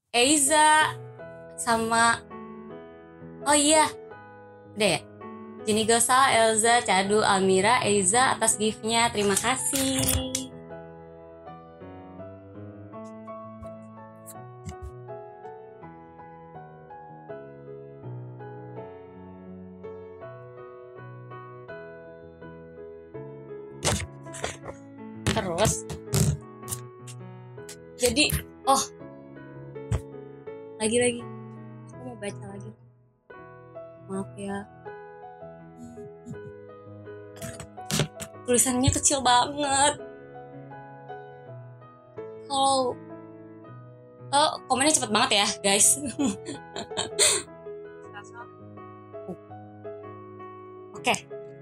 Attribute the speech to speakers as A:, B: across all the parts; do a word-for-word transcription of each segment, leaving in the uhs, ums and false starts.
A: Eiza sama oh iya, udah ya. Jenny Gosal, Elza, Cadu, Almira, Eiza atas gift-nya. Terima kasih. Terus jadi oh lagi-lagi aku mau baca lagi. Maaf ya. Tulisannya kecil banget. Kalau oh, komennya cepet banget ya, guys. Oke.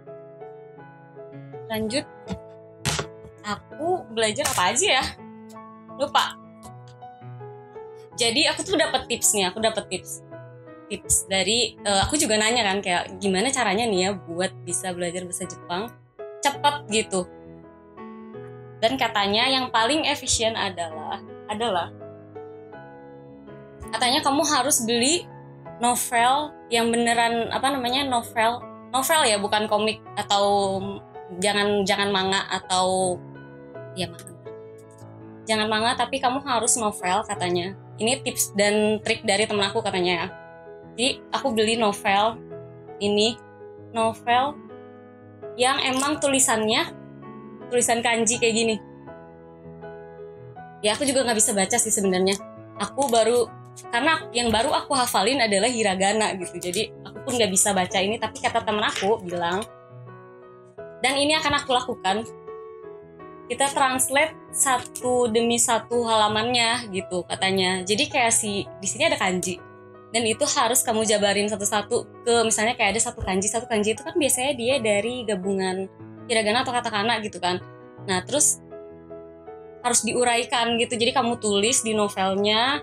A: Lanjut. Aku belajar apa aja ya? Lupa. Jadi aku tuh dapat tips nih, aku dapat tips. Tips dari uh, aku juga nanya kan kayak gimana caranya nih ya buat bisa belajar bahasa Jepang cepat gitu. Dan katanya yang paling efisien adalah adalah katanya kamu harus beli novel yang beneran apa namanya novel novel ya, bukan komik atau jangan jangan manga atau ya manga. Jangan manga tapi kamu harus novel katanya. Ini tips dan trik dari temen aku katanya ya. Jadi aku beli novel ini novel yang emang tulisannya tulisan kanji kayak gini. Ya aku juga nggak bisa baca sih sebenarnya. Aku baru karena yang baru aku hafalin adalah hiragana gitu. Jadi aku pun nggak bisa baca ini, tapi kata temen aku bilang dan ini akan aku lakukan. Kita translate satu demi satu halamannya gitu katanya. Jadi kayak si di sini ada kanji dan itu harus kamu jabarin satu-satu ke misalnya kayak ada satu kanji satu kanji itu kan biasanya dia dari gabungan hiragana atau katakana gitu kan. Nah terus harus diuraikan gitu. Jadi kamu tulis di novelnya,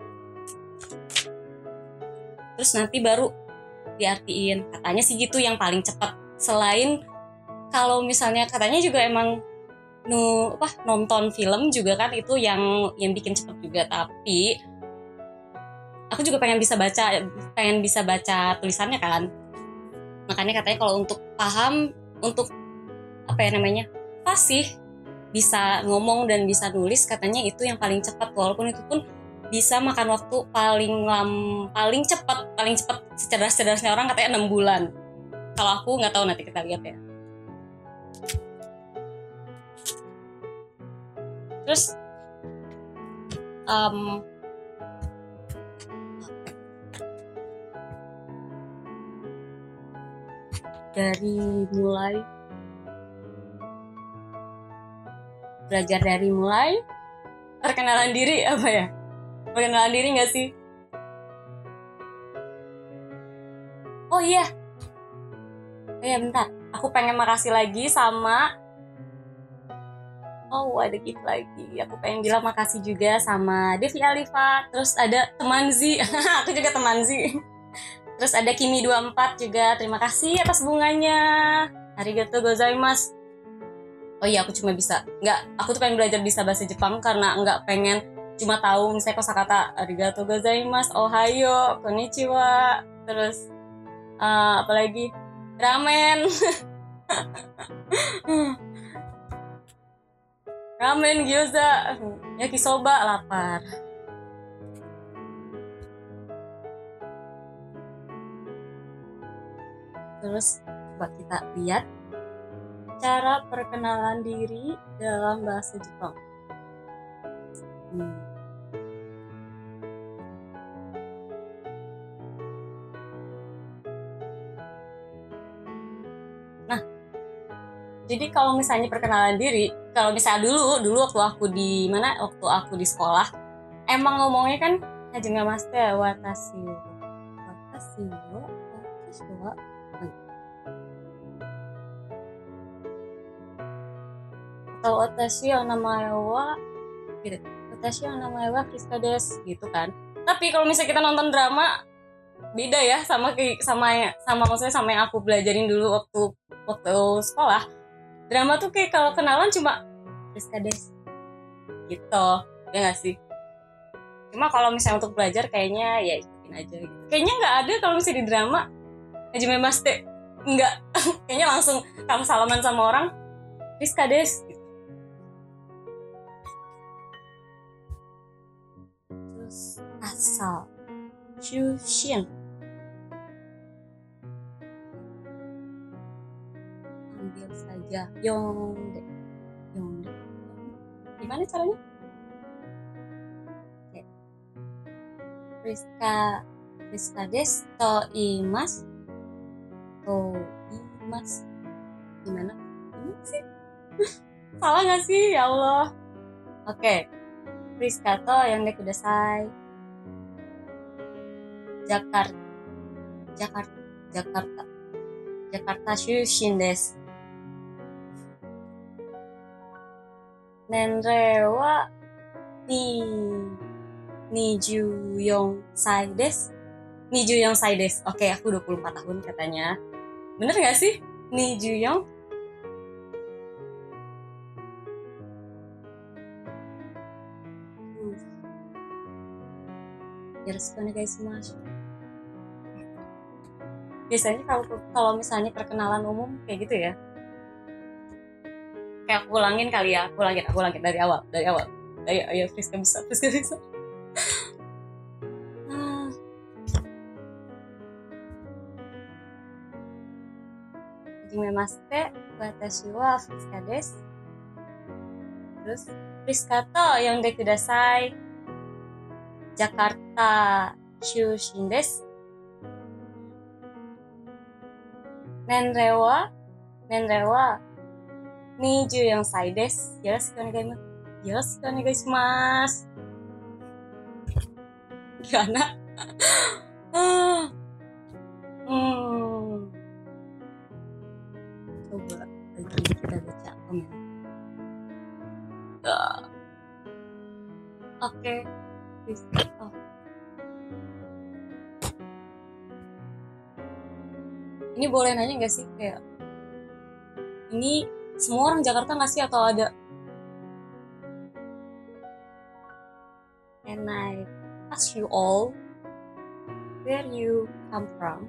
A: terus nanti baru diartiin. Katanya sih gitu yang paling cepat. Selain kalau misalnya katanya juga emang nu apa nonton film juga kan itu yang yang bikin cepet juga, tapi aku juga pengen bisa baca pengen bisa baca tulisannya kan. Makanya katanya kalau untuk paham untuk apa ya namanya fasih bisa ngomong dan bisa nulis katanya itu yang paling cepat, walaupun itu pun bisa makan waktu paling lam paling cepat paling cepat secerdas-cerdasnya orang katanya enam bulan. Kalau aku nggak tahu, nanti kita lihat ya. Terus um, dari mulai belajar dari mulai perkenalan diri apa ya perkenalan diri nggak sih? Oh iya oh iya bentar, aku pengen makasih lagi sama oh ada gift lagi. Aku pengen bilang makasih juga sama Devi Alifa, terus ada teman Z. Aku juga teman Z. Terus ada Kimi dua puluh empat juga, terima kasih atas bunganya. Arigatou gozaimasu. Oh iya aku cuma bisa nggak aku tuh pengen belajar bisa bahasa Jepang karena nggak pengen cuma tahu misalnya kosakata arigatou gozaimasu, ohayo, konnichiwa, terus uh, apa lagi ramen. Ramen, gyoza, yakisoba, lapar. Terus coba kita lihat cara perkenalan diri dalam bahasa Jepang. Hmm. Nah, jadi kalau misalnya perkenalan diri, kalau misalnya dulu, dulu waktu aku di mana, waktu aku di sekolah, emang ngomongnya kan hajimemashite watashi wo, watashi wo, watashi wa, atau watashi wa namae wa, gitu. Watashi wa namae wa Friska desu, gitu kan. Tapi kalau misalnya kita nonton drama, beda ya sama sama sama maksudnya sama yang aku belajarin dulu waktu waktu sekolah. Drama tuh kayak kalau kenalan cuma Friska desu gitu, ya nggak sih? Cuma kalau misalnya untuk belajar kayaknya ya ikutin aja gitu. Kayaknya nggak ada kalau misalnya di drama Hajime Maste nggak kayaknya langsung kamu salaman sama orang Rizka des gitu. Terus asal Shushin ambil saja Yongde Yongde gimana caranya? Oke. Rizka Rizka des to imas to imas gimana? Gimana sih? Salah nggak sih ya Allah? Oke. Rizka to Yongde kudasai. Jakarta Jakarta Jakarta Jakarta Shushin desu. Nenrei wa ni nijuyong sai desu. Nijuyong sai desu. Oke, aku dua puluh empat tahun katanya. Bener gak sih? Nijuyong? Hmm. Yoroshiku onegaishimasu. Biasanya kalau kalau misalnya perkenalan umum kayak gitu ya. Kayak aku ulangin kali ya, aku ulangin, aku ulangin dari awal, dari awal. Ayo, ayo, Friska bisa, Friska bisa. Ah. Hajime maste, watashi wa Friska desu. Terus, Friska to yonde kudasai. Jakarta Shushin desu. Nenrei wa, nenrei waにじゅうよんさいです。よろしくお願いします。よろしくお願いします。Gimana? hmm. Coba lagi kita baca komen. Uh. Oke. Okay. Oh. Ini boleh nanya nggak sih kayak ini semua orang Jakarta nggak sih atau ada? And I ask you all, where you come from?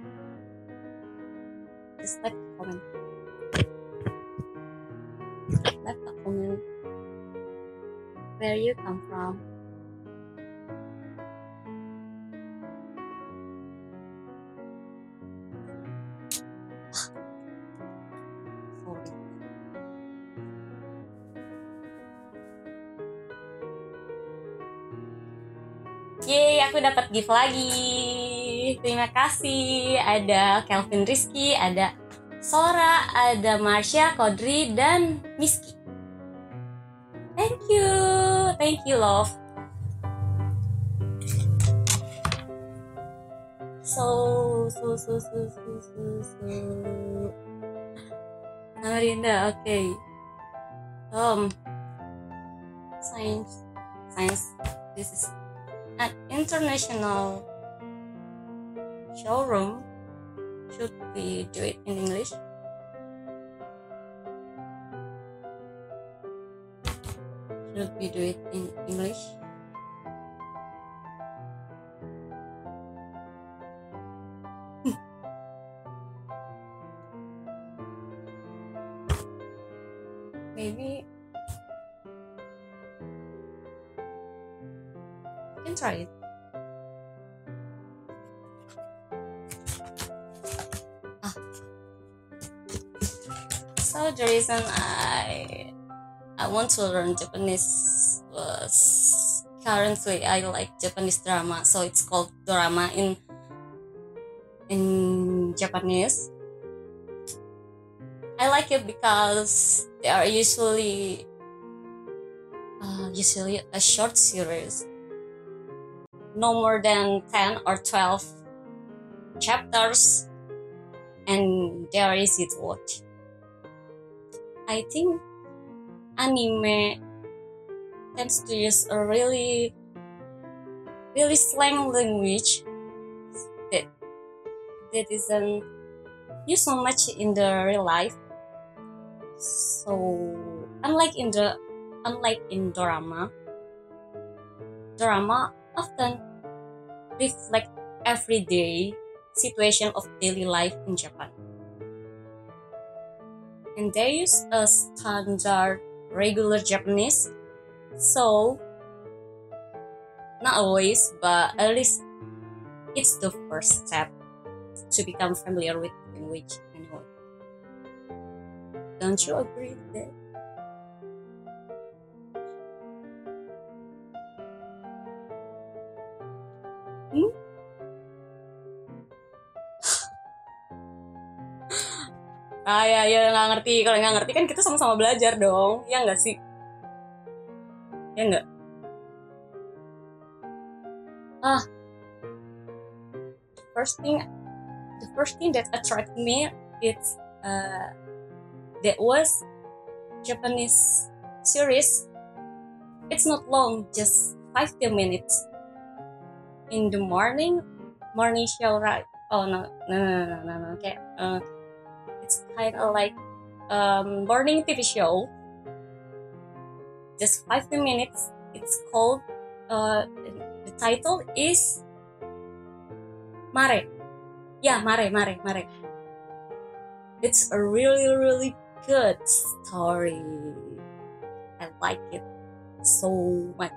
A: Just leave a comment. Leave a comment. Where you come from? Sorry. Yeay, aku dapat gift lagi. Terima kasih. Ada Kelvin Rizky, ada Sora, ada Marsha, Kodri, dan Miski. Thank you. Thank you, love. So, so, so, so, so, so, so. Amarinda, oke. Okay. Um, science, science. This is an international showroom. Should we do it in English? Should we do it in English? Maybe you can try it. Ah. So the reason I I want to learn Japanese was currently I like Japanese drama, so it's called dorama in in Japanese. I like it because they are usually uh, usually a short series, no more than ten or twelve chapters, and they are easy to watch. I think anime tends to use a really really slang language that that isn't used so much in the real life. So unlike in the unlike in drama, drama often reflect everyday situation of daily life in Japan. And they use a standard regular Japanese, so not always, but at least it's the first step to become familiar with language anyway. Don't you agree with that? Hmm? Ah ya, ya nggak ngerti. Kalau nggak ngerti kan kita sama-sama belajar dong, ya nggak sih? Ya nggak? Ah, the first thing, the first thing that attracted me it's uh, that was Japanese series. It's not long, just five to minutes in the morning, morning show, right? Oh no, no, no, no, no, no. Okay, uh, it's kind of like um morning T V show. Just five to minutes. It's called. Uh, the title is Mare. Yeah, Mare, Mare, Mare. It's a really, really good story. I like it so much.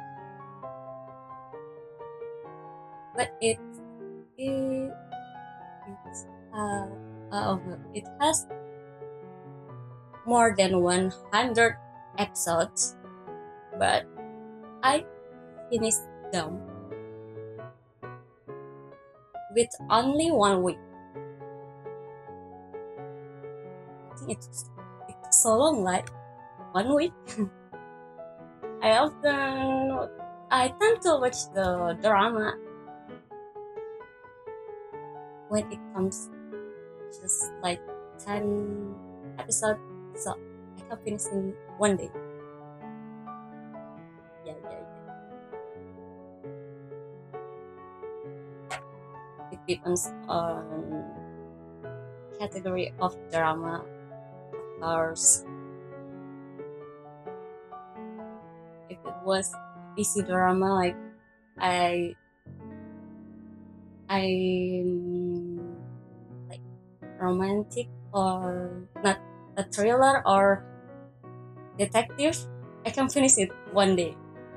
A: But it it it's, uh, uh, it has more than one hundred episodes, but I finished them with only one week. I think it's it took so long, like one week. I often I tend to watch the drama when it comes just like ten episodes, so I can finish in one day. Yeah, yeah, yeah. It depends on category of drama, of course. If it was easy drama, like I, I like romantic or not a thriller or detective, I can finish it one day.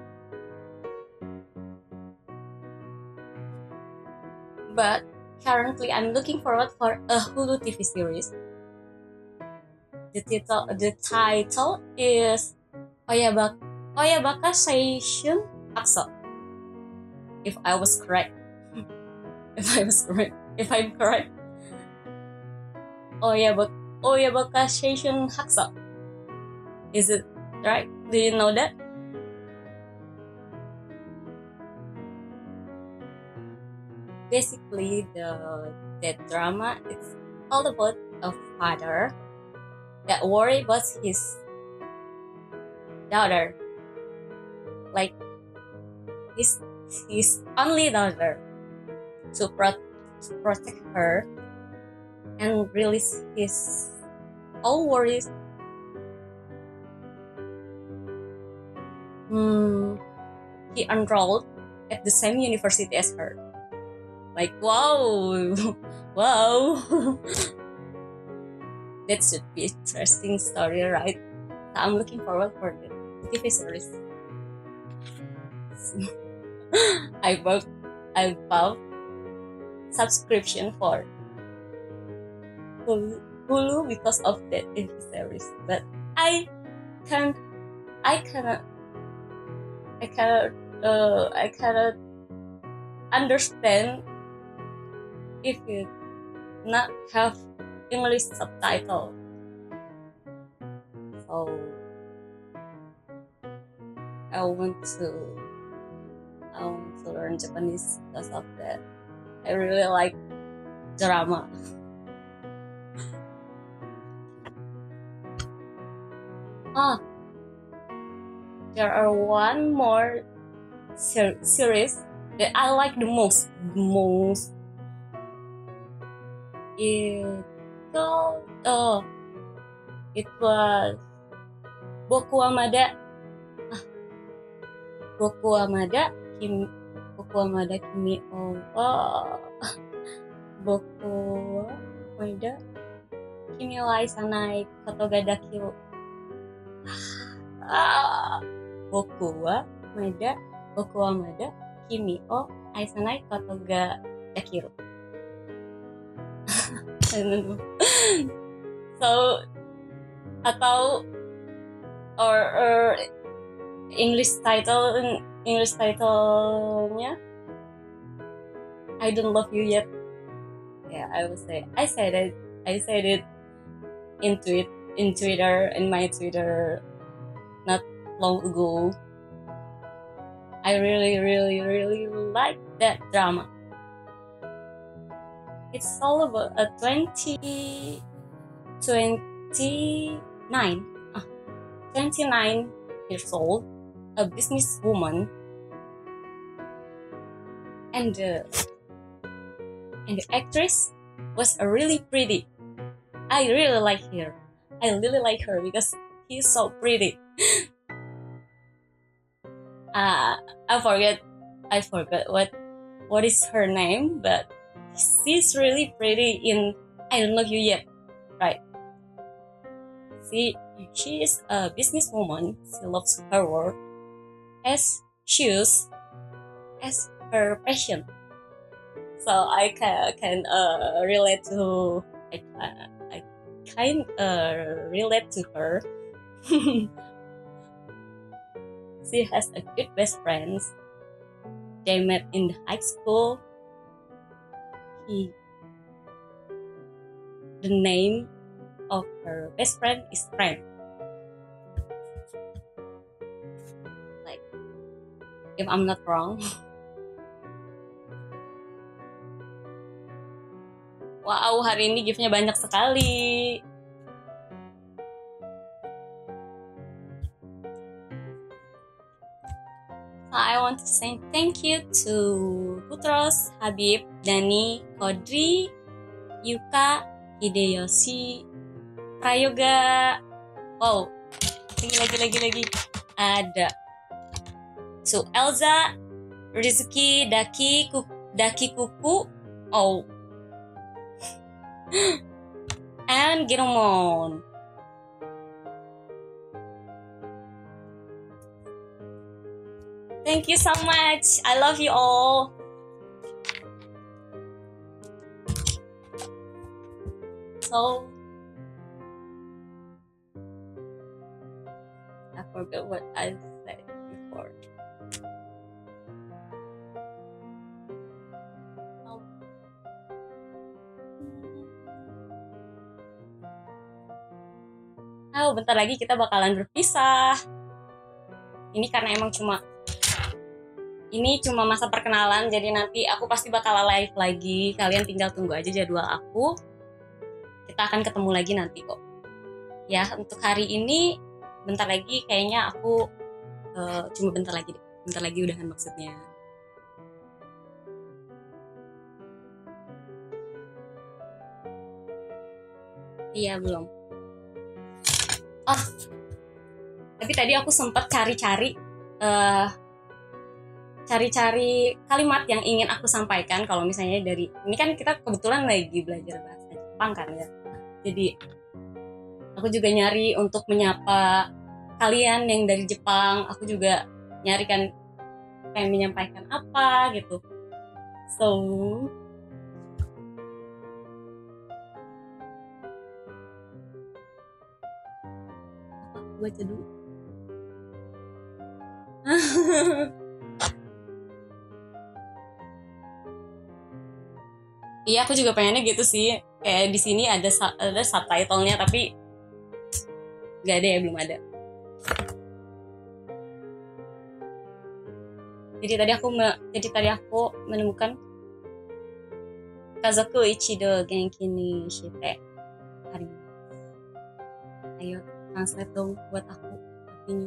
A: But currently, I'm looking forward for a Hulu T V series. The title, the title is Oyabaka, Oyabaka Seishun Akso. If I was correct, if I was correct, if I'm correct, Oyabaka, Oyabaka Seishun Hakso. Is it right? Do you know that? Basically, the that drama it's all about a father that worry about his daughter, like his his only daughter, to, pro- to protect her and release his all worries. Hmm, he enrolled at the same university as her. Like wow, wow. That should be interesting story, right? So I'm looking forward for the T V series. I bought I bought subscription for Hulu, Hulu because of that T V series. But I can't I cannot I cannot uh, I cannot understand if you not have English subtitle. So I want to I want to learn Japanese because of that. I really like drama. Ah, there are one more ser- series that I like the most. Most. It oh, it was Boku Amada. Ah, Boku wa mada kimi Boku wa mada kimi o wa Boku wa mada kimi wa aisanai koto ga dakiru. Ah, Boku wa mada Boku wa mada kimi o aisanai koto ga dakiru. So atau or, or English title English title-nya I don't love you yet. Yeah, I would say I said it I said it in tweet in Twitter in my Twitter not long ago. I really really really like that drama. It's all about a twenty twenty-nine uh, twenty-nine years old, a businesswoman, and the and the actress was a really pretty. I really like her. I really like her because he's so pretty. uh, I forget I forgot what what is her name, but she's really pretty in I Don't Love You Yet, right? She, she is a businesswoman. She loves her work as shoes as her passion. So I can, can uh, relate to I, I kind uh, relate to her. She has a good best friends. They met in high school. He, the name of her best friend is Frank. Like, if I'm not wrong. Wow, hari ini gift-nya banyak sekali. So I want to say thank you to Putros, Habib, Dani, Kodri, Yuka, Hideyoshi, Prayoga. Wow, lagi lagi lagi lagi ada. So Elza, Rizky, Daki, Ku, Daki Kuku, oh, and Giromon. Thank you so much. I love you all. So I forgot what I said before. Oh, bentar lagi kita bakalan berpisah. Ini karena emang cuma Ini cuma masa perkenalan, jadi nanti aku pasti bakal live lagi. Kalian tinggal tunggu aja jadwal aku. Kita akan ketemu lagi nanti kok. Ya, untuk hari ini bentar lagi kayaknya aku uh, cuma bentar lagi deh. Bentar lagi udahan maksudnya. Iya, belum. Oh, tapi tadi aku sempat cari-cari uh, cari-cari kalimat yang ingin aku sampaikan. Kalau misalnya dari ini kan kita kebetulan lagi belajar bahasa Jepang kan ya, jadi aku juga nyari untuk menyapa kalian yang dari Jepang. Aku juga nyari kan pengen menyampaikan apa gitu. So apa aku baca dulu. Iya, aku juga pengennya gitu sih. Kayak di sini ada ada subtitlenya, tapi nggak ada ya, belum ada. Jadi tadi aku me, jadi tadi aku menemukan Kazoku ichido genki ni shite arimasu. Ayo translate dong buat aku artinya.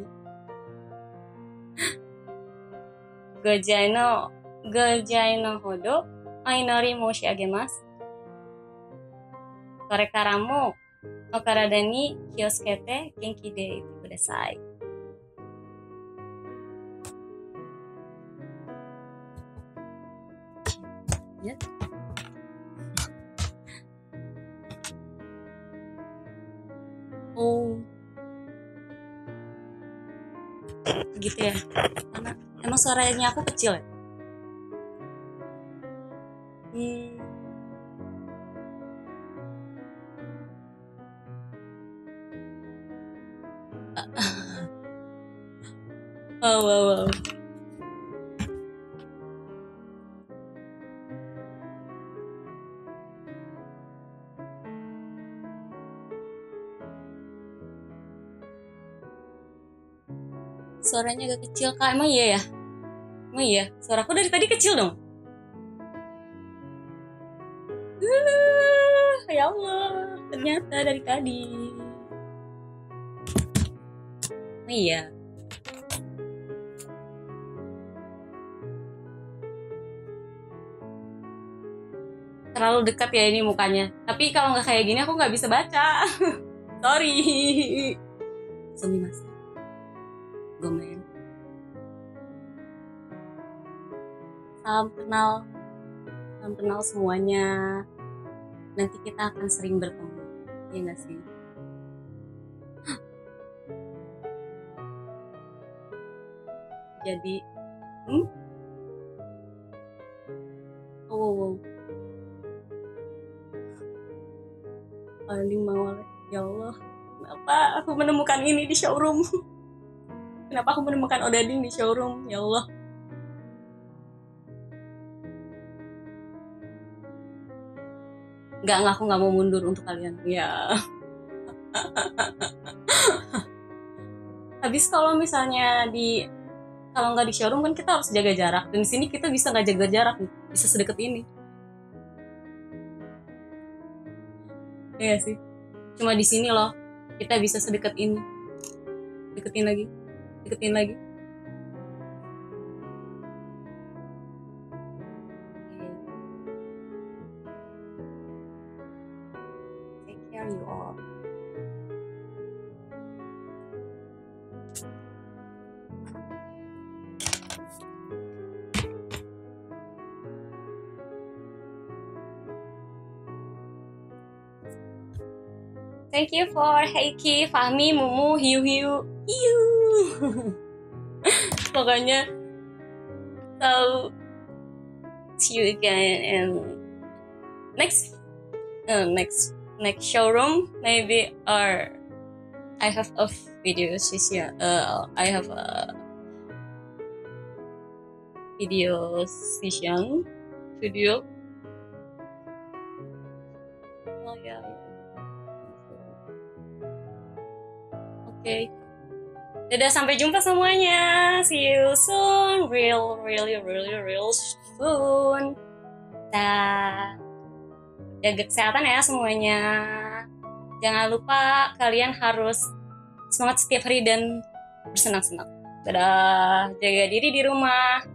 A: Gojai no gojai no hodo Ainori moushiagemasu. Kore kara mo o karada ni kiyotsukete genki de ite kudasai. Ya. Oh, gitu ya. Karena emang suaranya aku kecil ya. Hmm. Wow, wow, wow. Suaranya agak kecil kak, emang iya ya? Emang iya, suaraku dari tadi kecil dong. Uh, ya Allah, ternyata dari tadi. Oh iya. Terlalu dekat ya ini mukanya. Tapi kalau nggak kayak gini aku nggak bisa baca. Sorry. Sumimasen. Gomen. Salam kenal. Salam kenal semuanya. Nanti kita akan sering bertemu. Iya nggak sih? Jadi, hmm? Oh, paling mau ya Allah. Kenapa aku menemukan ini di showroom? Kenapa aku menemukan Odading di showroom? Ya Allah. Nggak, aku nggak mau mundur untuk kalian. Ya. Habis kalau misalnya di kalau nggak di showroom kan kita harus jaga jarak. Dan di sini kita bisa nggak jaga jarak, bisa sedekat ini. Iya sih. Cuma di sini loh kita bisa sedekat ini. Deketin lagi, deketin lagi. Take care you all. Thank you for Heiki, Fahmi, Mumu, Hiu Hiu, Hiu. Pokoknya, so see you again in next uh, next next showroom maybe, or I have a video session. Uh, I have a video session video. Oh ya. Yeah. Oke. Okay. Dadah, sampai jumpa semuanya. See you soon. Real, really, really, real soon. Dah. Jaga kesehatan ya semuanya. Jangan lupa kalian harus semangat setiap hari dan bersenang-senang. Dadah. Jaga diri di rumah.